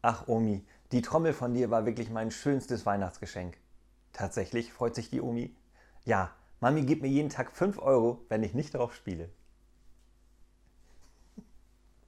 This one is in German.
Ach Omi, die Trommel von dir war wirklich mein schönstes Weihnachtsgeschenk. Tatsächlich, freut sich die Omi. Ja, Mami gibt mir jeden Tag 5 Euro, wenn ich nicht drauf spiele.